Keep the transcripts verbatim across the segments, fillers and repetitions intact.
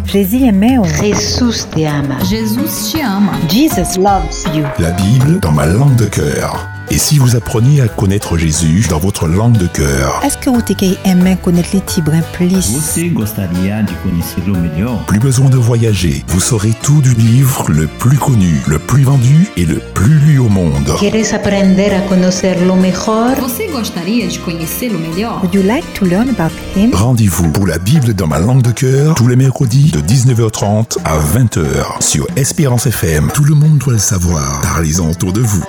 Jésus aimait. Jesús te ama. Jesus te ama. Jesus loves you. La Bible dans ma langue de cœur. Et si vous appreniez à connaître Jésus dans votre langue de cœur? Est-ce que vous aimez connaître les Tibrins plus? Você gostaria de conhecê-lo melhor? Plus besoin de voyager. Vous saurez tout du livre le plus connu, le plus vendu et le plus lu au monde. ¿Quieres aprender a conocerlo mejor? Você gostaria de conhecê-lo melhor? Would you like to learn about him? Rendez-vous pour la Bible dans ma langue de cœur tous les mercredis de dix-neuf heures trente à vingt heures sur Espérance F M. Tout le monde doit le savoir. Parlez-en autour de vous.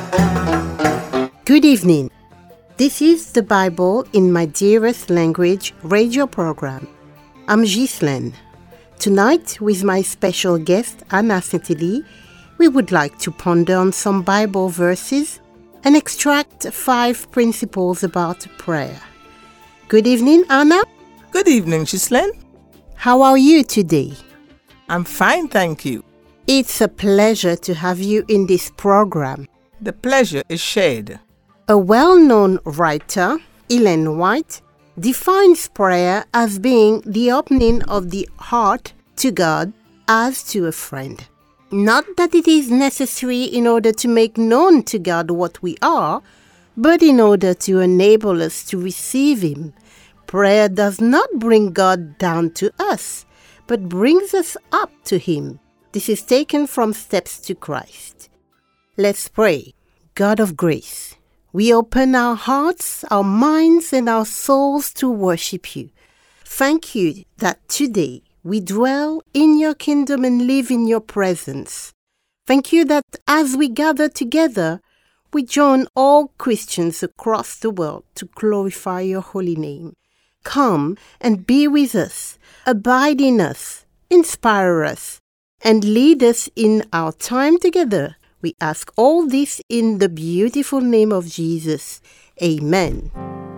Good evening. This is the Bible in my dearest language radio program. I'm Ghislaine. Tonight, with my special guest, Anna Saint-Élie, we would like to ponder on some Bible verses and extract five principles about prayer. Good evening, Anna. Good evening, Ghislaine. How are you today? I'm fine, thank you. It's a pleasure to have you in this program. The pleasure is shared. A well-known writer, Ellen White, defines prayer as being the opening of the heart to God as to a friend. Not that it is necessary in order to make known to God what we are, but in order to enable us to receive Him. Prayer does not bring God down to us, but brings us up to Him. This is taken from Steps to Christ. Let's pray. God of grace, we open our hearts, our minds, and our souls to worship you. Thank you that today we dwell in your kingdom and live in your presence. Thank you that as we gather together, we join all Christians across the world to glorify your holy name. Come and be with us, abide in us, inspire us, and lead us in our time together. We ask all this in the beautiful name of Jesus. Amen.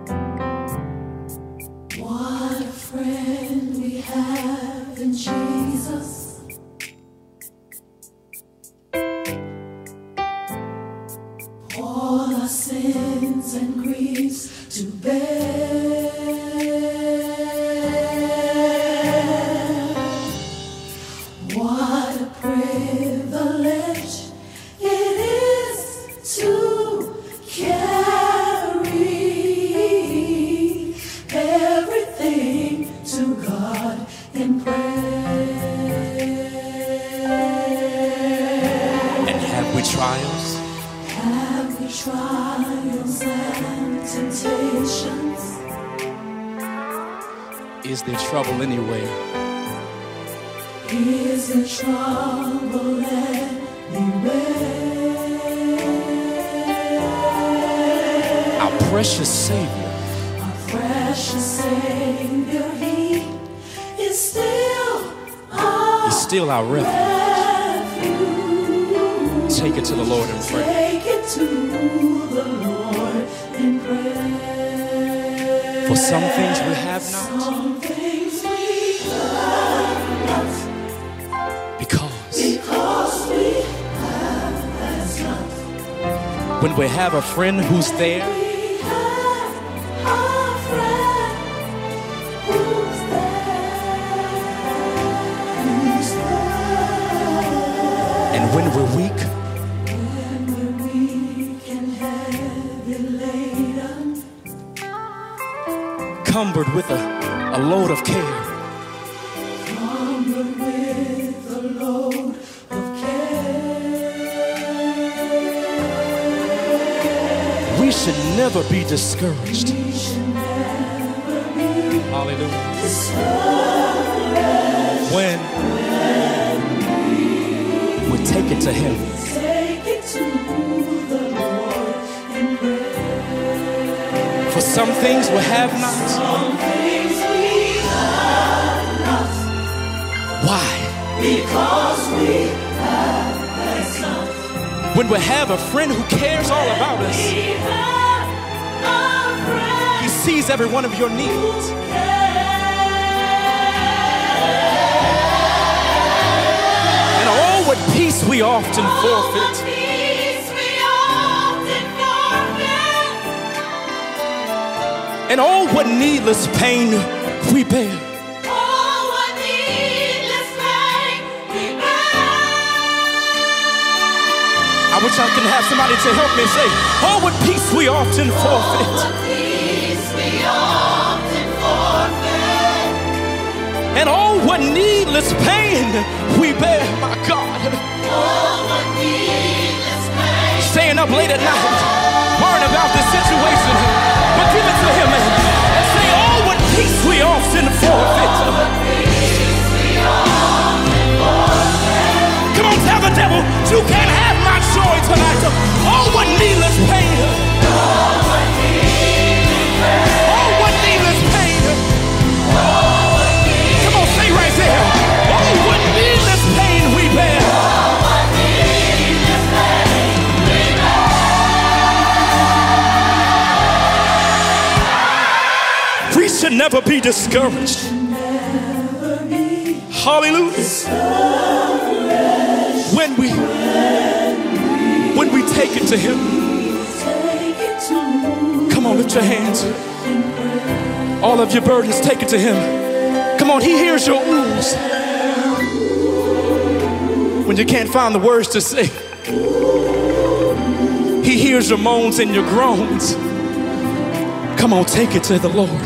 What a friend we have in Jesus. All our sins and griefs to bear. What a privilege it is to carry everything to God in prayer. And have we trials? Have we trials and temptations? Is there trouble anywhere? Is there trouble anywhere? Our precious Savior, Our precious Savior, He is still our is still our refuge. refuge. Take it to the Lord in prayer. Take it to the Lord in prayer. For some things we have not, Some things we have not, because because we have as not. when we have a friend who's there, We have a friend who's there, who's there. and when we're weak, When we're weak and heavy laden, cumbered with a, a load of care, cumbered with a load of care, we should never be discouraged. we should never be Hallelujah. discouraged. When we take it to Him, Take it to the Lord in prayer. for some things we have not. Some things we have not, Why? because we have as not. When we have a friend who cares all about us, We have a friend He sees every one of your needs. who cares. And oh, what peace we often forfeit. Peace we often forfeit. And oh, what needless pain we bear. Oh, what needless wish I could have somebody to help me say, oh, what peace we often forfeit. And oh, what needless pain we bear, my God. Staying up late at night, worrying about this situation, but give it to him and say, oh, what peace we often forfeit. Come on, tell the devil, you can't have my joy tonight. Oh, what needless pain. Oh, what needless pain. Come on, say right there. Oh, what needless pain we bear. We should never be discouraged. Hallelujah. When we, when we take it to him. Come on, lift your hands. All of your burdens, take it to him. Come on, he hears your wounds. When you can't find the words to say, he hears your moans and your groans. Come on, take it to the Lord.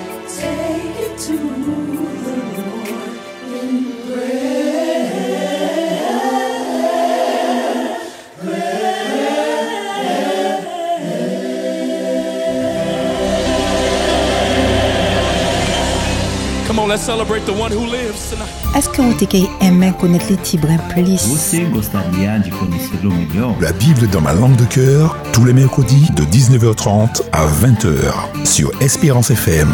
Let's celebrate the one who lives tonight. Est-ce que vous aimez connaître les Tibrin plus? Você gostaria de conhecê-lo melhor? La Bible dans ma langue de cœur, tous les mercredis de dix-neuf heures trente à vingt heures sur Espérance F M.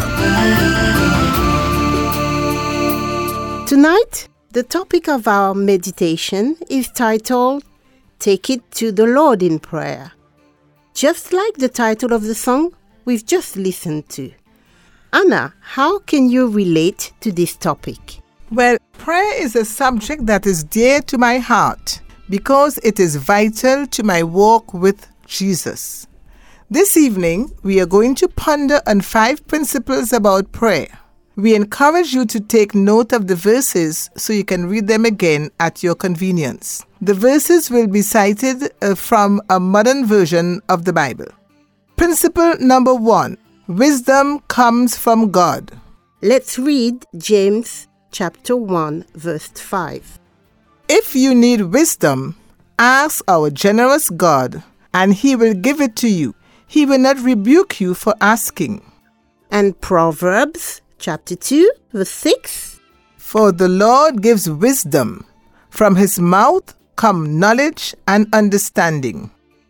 Tonight, the topic of our meditation is titled, Take It to the Lord in Prayer. Just like the title of the song we've just listened to. Anna, how can you relate to this topic? Well, prayer is a subject that is dear to my heart because it is vital to my walk with Jesus. This evening, we are going to ponder on five principles about prayer. We encourage you to take note of the verses so you can read them again at your convenience. The verses will be cited uh, from a modern version of the Bible. Principle number one. Wisdom comes from God. Let's read James chapter one, verse five. If you need wisdom, ask our generous God, and he will give it to you. He will not rebuke you for asking. And Proverbs chapter two, verse six. For the Lord gives wisdom. From his mouth come knowledge and understanding.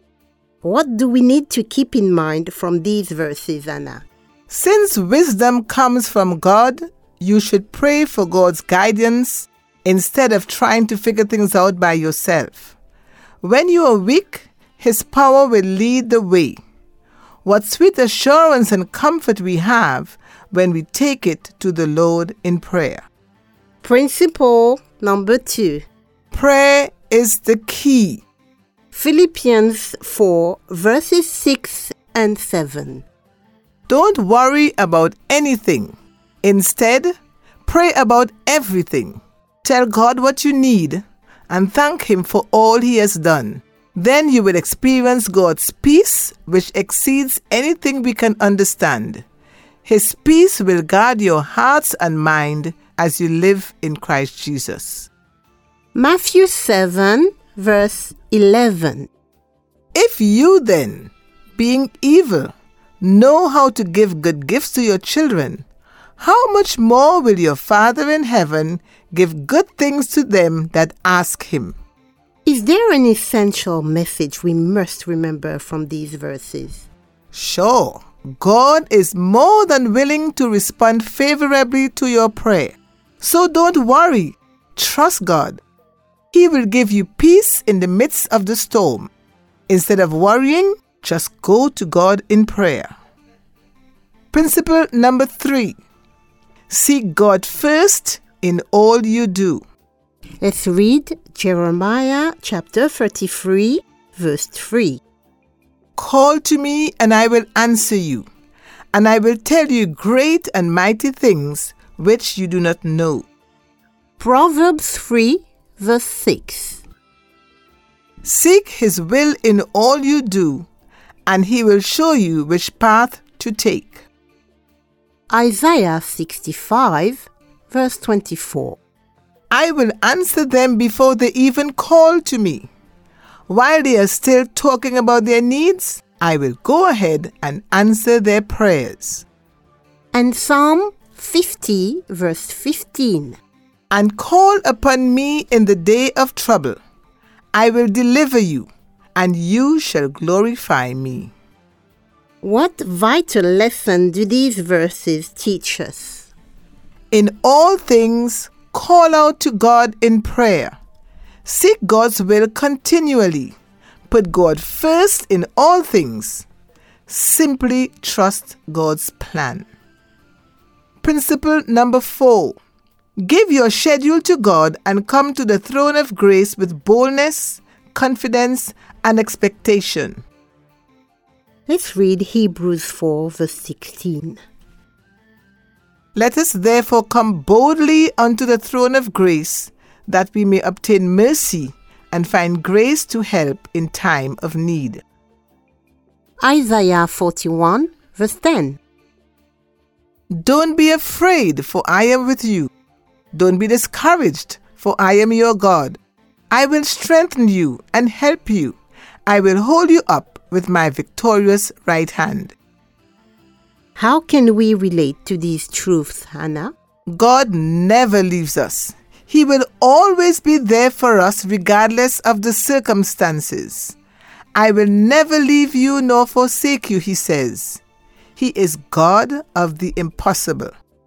What do we need to keep in mind from these verses, Anna? Since wisdom comes from God, you should pray for God's guidance instead of trying to figure things out by yourself. When you are weak, his power will lead the way. What sweet assurance and comfort we have when we take it to the Lord in prayer. Principle number two. Prayer is the key. Philippians four, verses six and seven. Don't worry about anything. Instead, pray about everything. Tell God what you need and thank him for all he has done. Then you will experience God's peace, which exceeds anything we can understand. His peace will guard your hearts and mind as you live in Christ Jesus. Matthew seven, verse eleven. If you then, being evil, know how to give good gifts to your children, how much more will your Father in heaven give good things to them that ask him? Is there an essential message we must remember from these verses? Sure. God is more than willing to respond favorably to your prayer. So don't worry. Trust God. He will give you peace in the midst of the storm. Instead of worrying, just go to God in prayer. Principle number three. Seek God first in all you do. Let's read Jeremiah chapter thirty-three, verse three. Call to me and I will answer you, and I will tell you great and mighty things which you do not know. Proverbs three, verse six. Seek His will in all you do, and He will show you which path to take. Isaiah sixty-five, verse twenty-four. I will answer them before they even call to me. While they are still talking about their needs, I will go ahead and answer their prayers. And Psalm fifty, verse fifteen. And call upon me in the day of trouble. I will deliver you, and you shall glorify me. What vital lesson do these verses teach us? In all things, call out to God in prayer. Seek God's will continually. Put God first in all things. Simply trust God's plan. Principle number four. Give your schedule to God and come to the throne of grace with boldness, confidence, and expectation. Let's read Hebrews four, verse sixteen. Let us therefore come boldly unto the throne of grace, that we may obtain mercy and find grace to help in time of need. Isaiah forty-one, verse ten. Don't be afraid, for I am with you. Don't be discouraged, for I am your God. I will strengthen you and help you. I will hold you up with my victorious right hand. How can we relate to these truths, Hannah? God never leaves us. He will always be there for us regardless of the circumstances. I will never leave you nor forsake you, He says. He is God of the impossible.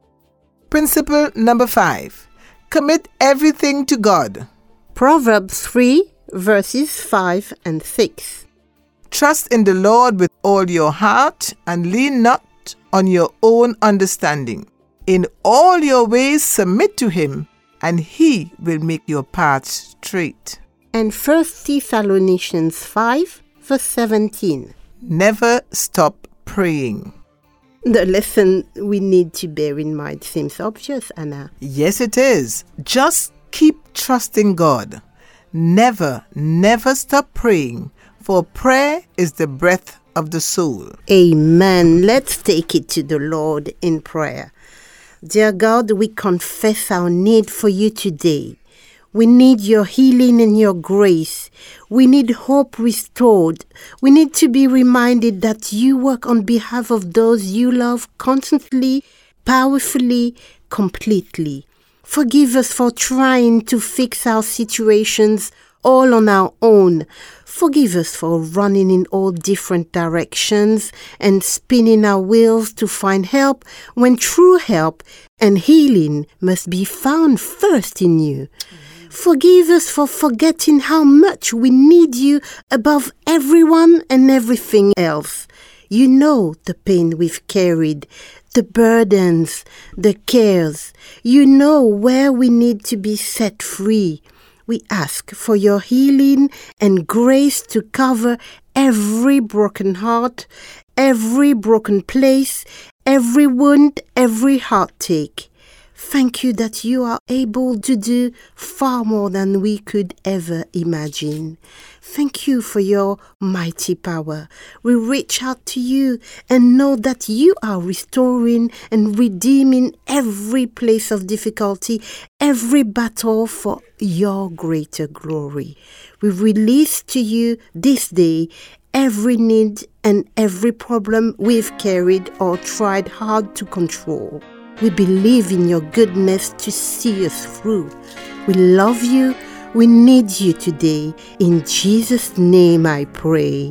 Principle number five. Commit everything to God. Proverbs three, verses five and six. Trust in the Lord with all your heart and lean not on your own understanding. In all your ways submit to Him, and He will make your paths straight. And First Thessalonians five, verse seventeen. Never stop praying. The lesson we need to bear in mind seems obvious, Anna. Yes, it is. Just keep trusting God. Never, never stop praying, for prayer is the breath of the soul. Amen. Let's take it to the Lord in prayer. Dear God, we confess our need for you today. We need your healing and your grace. We need hope restored. We need to be reminded that you work on behalf of those you love constantly, powerfully, completely. Forgive us for trying to fix our situations all on our own. Forgive us for running in all different directions and spinning our wheels to find help when true help and healing must be found first in you. Forgive us for forgetting how much we need you above everyone and everything else. You know the pain we've carried, the burdens, the cares. You know where we need to be set free. We ask for your healing and grace to cover every broken heart, every broken place, every wound, every heartache. Thank you that you are able to do far more than we could ever imagine. Thank you for your mighty power. We reach out to you and know that you are restoring and redeeming every place of difficulty, every battle for your greater glory. We release to you this day every need and every problem we've carried or tried hard to control. We believe in your goodness to see us through. We love you. We need you today. In Jesus' name I pray.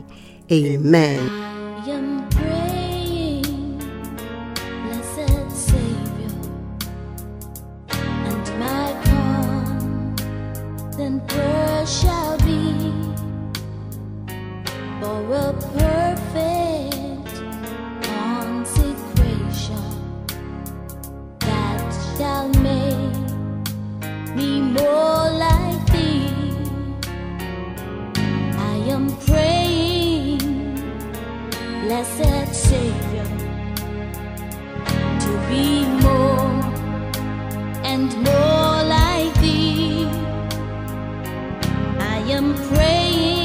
Amen. I am praying, blessed Savior, and my constant prayer shall be for a perfect consecration that shall make me more like Thee. I am praying, blessed Savior, to be more and more like Thee. I am praying,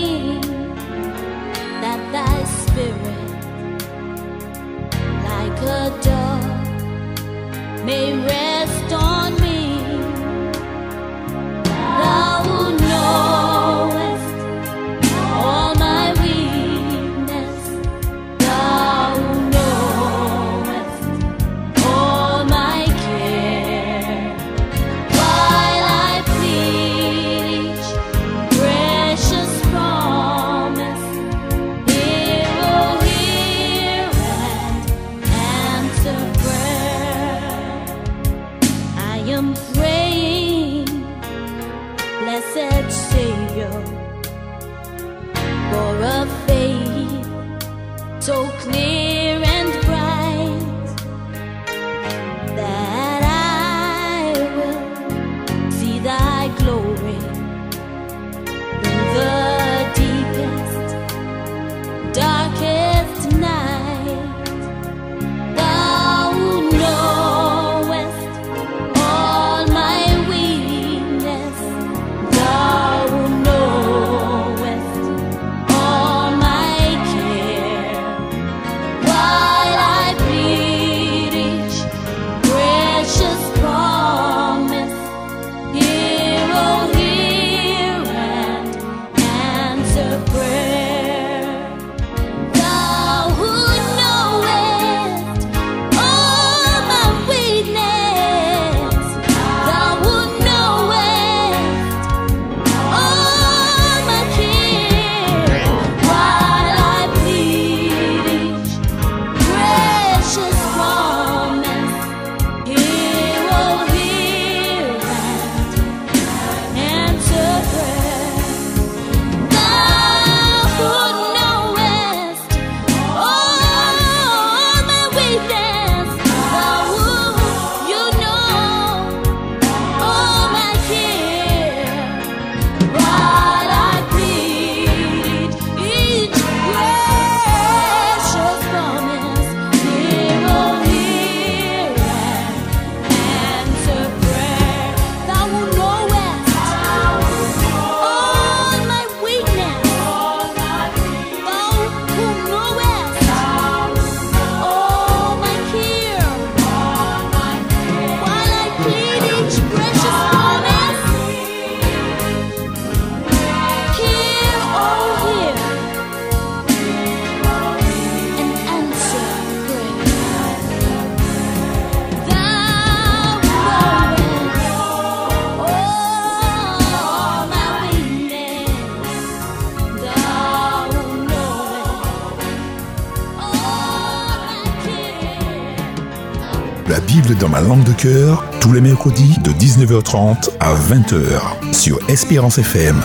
Bible dans ma langue de cœur, tous les mercredis de dix-neuf heures trente à vingt heures sur Espérance F M.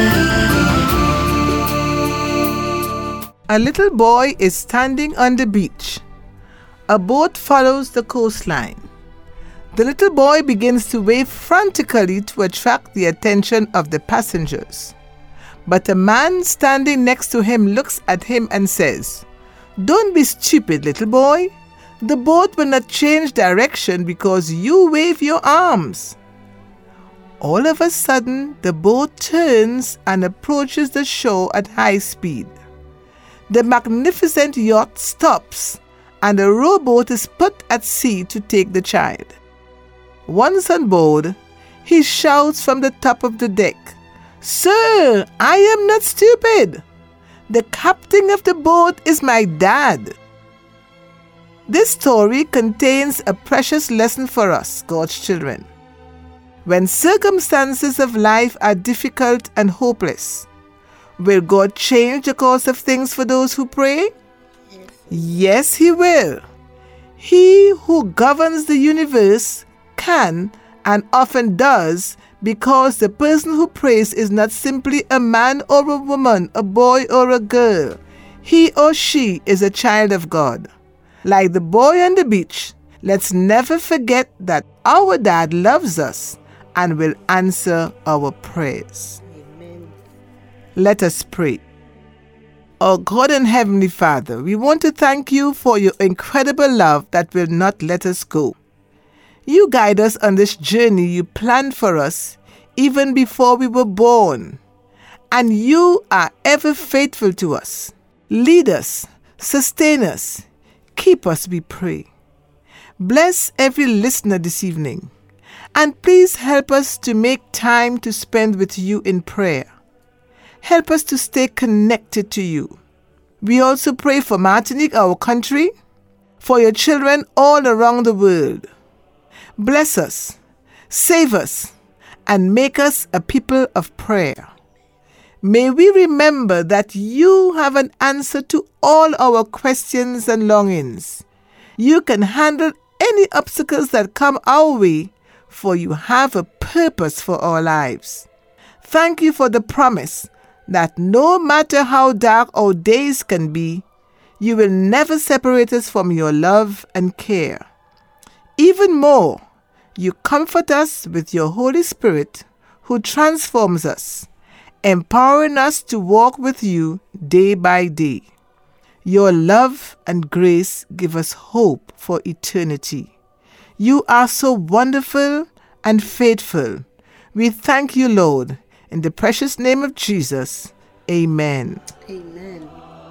A little boy is standing on the beach. A boat follows the coastline. The little boy begins to wave frantically to attract the attention of the passengers. But a man standing next to him looks at him and says, "Don't be stupid, little boy. The boat will not change direction because you wave your arms." All of a sudden, the boat turns and approaches the shore at high speed. The magnificent yacht stops and a rowboat is put at sea to take the child. Once on board, he shouts from the top of the deck, "Sir, I am not stupid. The captain of the boat is my dad." This story contains a precious lesson for us, God's children. When circumstances of life are difficult and hopeless, will God change the course of things for those who pray? Yes, yes, He will. He who governs the universe can and often does, because the person who prays is not simply a man or a woman, a boy or a girl. He or she is a child of God. Like the boy on the beach, let's never forget that our dad loves us and will answer our prayers. Amen. Let us pray. Our God and Heavenly Father, we want to thank you for your incredible love that will not let us go. You guide us on this journey you planned for us even before we were born. And you are ever faithful to us. Lead us, sustain us, keep us, we pray. Bless every listener this evening. And please help us to make time to spend with you in prayer. Help us to stay connected to you. We also pray for Martinique, our country, for your children all around the world. Bless us, save us, and make us a people of prayer. May we remember that you have an answer to all our questions and longings. You can handle any obstacles that come our way, for you have a purpose for our lives. Thank you for the promise that no matter how dark our days can be, you will never separate us from your love and care. Even more, you comfort us with your Holy Spirit, who transforms us, empowering us to walk with you day by day. Your love and grace give us hope for eternity. You are so wonderful and faithful. We thank you, Lord, in the precious name of Jesus. Amen. Amen.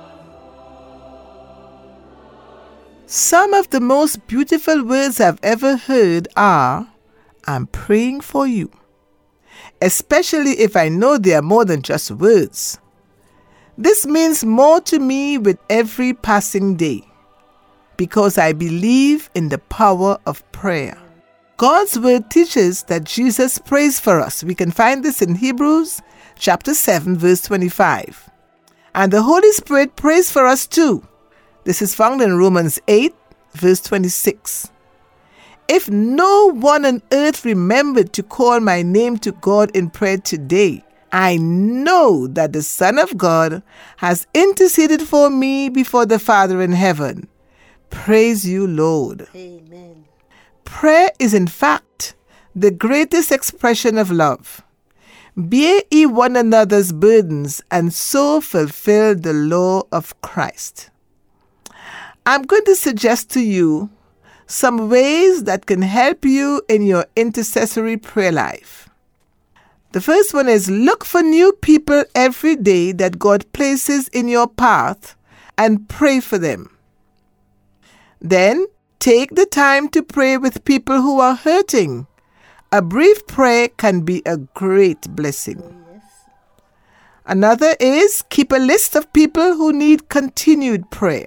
Some of the most beautiful words I've ever heard are, "I'm praying for you," especially if I know they are more than just words. This means more to me with every passing day, because I believe in the power of prayer. God's word teaches that Jesus prays for us. We can find this in Hebrews chapter seven, verse twenty-five. And the Holy Spirit prays for us too. This is found in Romans eight, verse twenty-six. If no one on earth remembered to call my name to God in prayer today, I know that the Son of God has interceded for me before the Father in heaven. Praise you, Lord. Amen. Prayer is in fact the greatest expression of love. Bear ye one another's burdens and so fulfill the law of Christ. I'm going to suggest to you some ways that can help you in your intercessory prayer life. The first one is look for new people every day that God places in your path and pray for them. Then take the time to pray with people who are hurting. A brief prayer can be a great blessing. Oh, yes. Another is keep a list of people who need continued prayer.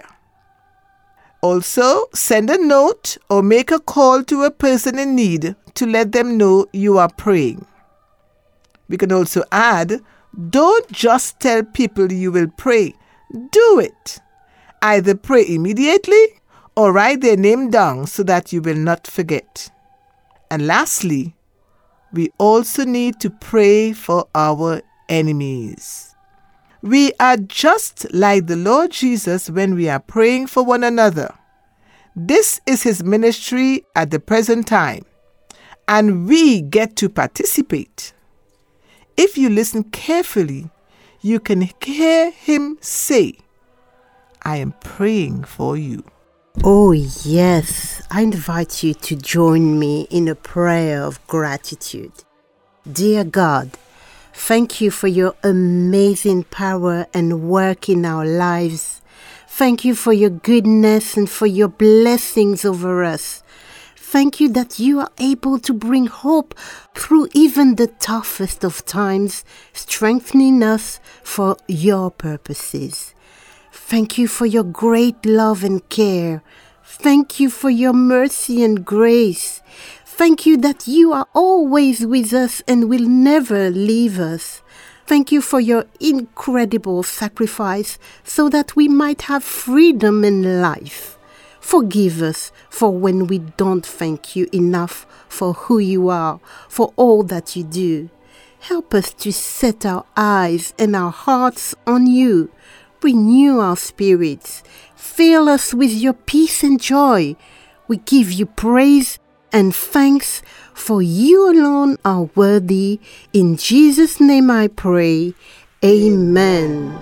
Also, send a note or make a call to a person in need to let them know you are praying. We can also add, don't just tell people you will pray. Do it. Either pray immediately or write their name down so that you will not forget. And lastly, we also need to pray for our enemies. We are just like the Lord Jesus when we are praying for one another. This is his ministry at the present time, and we get to participate. If you listen carefully, you can hear him say, "I am praying for you." Oh, yes. I invite you to join me in a prayer of gratitude. Dear God, thank you for your amazing power and work in our lives. Thank you for your goodness and for your blessings over us. Thank you that you are able to bring hope through even the toughest of times, strengthening us for your purposes. Thank you for your great love and care. Thank you for your mercy and grace. Thank you that you are always with us and will never leave us. Thank you for your incredible sacrifice so that we might have freedom and life. Forgive us for when we don't thank you enough for who you are, for all that you do. Help us to set our eyes and our hearts on you. Renew our spirits. Fill us with your peace and joy. We give you praise and thanks, for you alone are worthy. In Jesus' name I pray. Amen.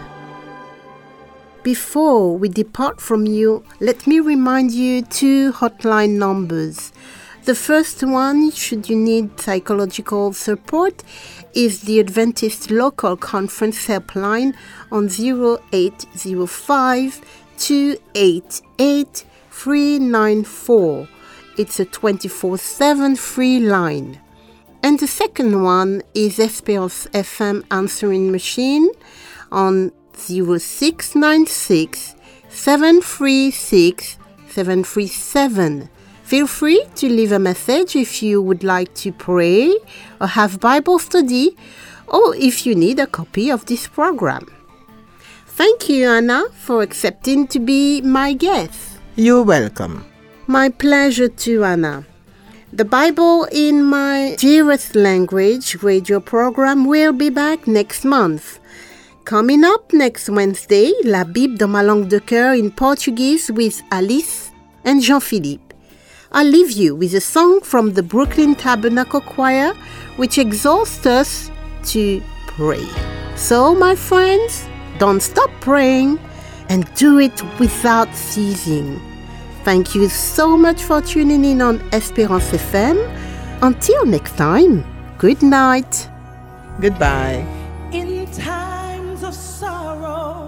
Before we depart from you, let me remind you two hotline numbers. The first one, should you need psychological support, is the Adventist Local Conference helpline on zero eight zero five, two eight eight, three nine four. It's a twenty-four seven free line. And the second one is Espérance F M answering machine on zero six nine six, seven three six, seven three seven. Feel free to leave a message if you would like to pray or have Bible study, or if you need a copy of this program. Thank you, Anna, for accepting to be my guest. You're welcome. My pleasure too, Anna. The Bible in My Dearest Language radio program will be back next month. Coming up next Wednesday, La Bible dans ma langue de cœur in Portuguese with Alice and Jean-Philippe. I'll leave you with a song from the Brooklyn Tabernacle Choir, which exhorts us to pray. So, my friends, don't stop praying and do it without ceasing. Thank you so much for tuning in on Espérance F M. Until next time, good night. Goodbye. In times of sorrow,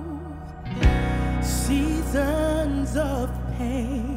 seasons of pain,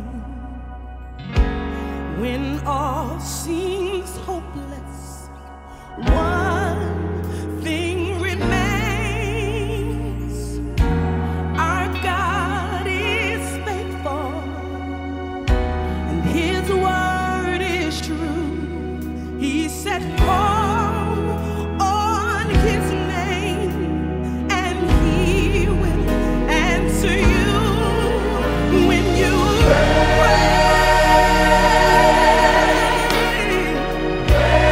when all seems hopeless, one thing remains: our God is faithful, and his word is true. He said, call on his name, and he will answer you when you pray.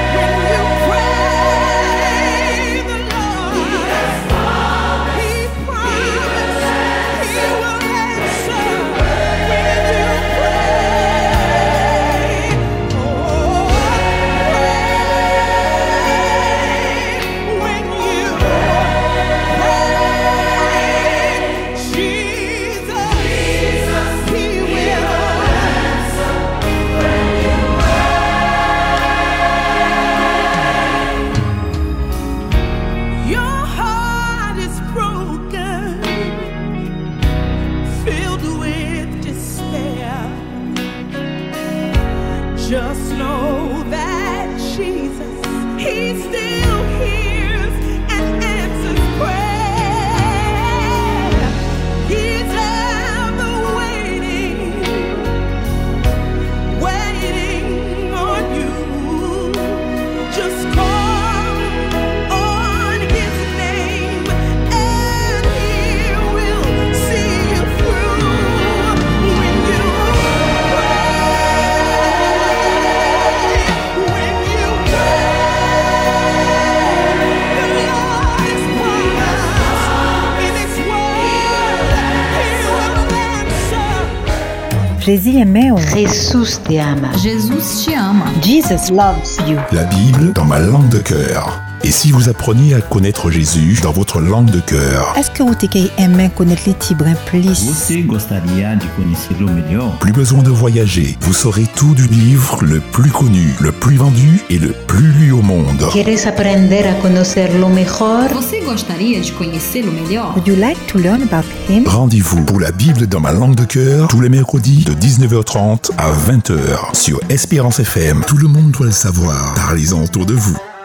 Jesus aimait. Jesús te ama. Jesus te ama. Jesus loves you. La Bible dans ma langue de cœur. Et si vous appreniez à connaître Jésus dans votre langue de cœur? Est-ce que vous aimez connaître les Tibrin plus? Você gostaria de conhecê-lo melhor? Plus besoin de voyager. Vous saurez tout du livre le plus connu, le plus vendu et le plus lu au monde. ¿Quieres aprender a conocerlo mejor? Você gostaria de conhecê-lo melhor? Would you like to learn about him? Rendez-vous pour la Bible dans ma langue de cœur tous les mercredis de dix-neuf heures trente à vingt heures sur Espérance F M. Tout le monde doit le savoir. Parlez-en autour de vous.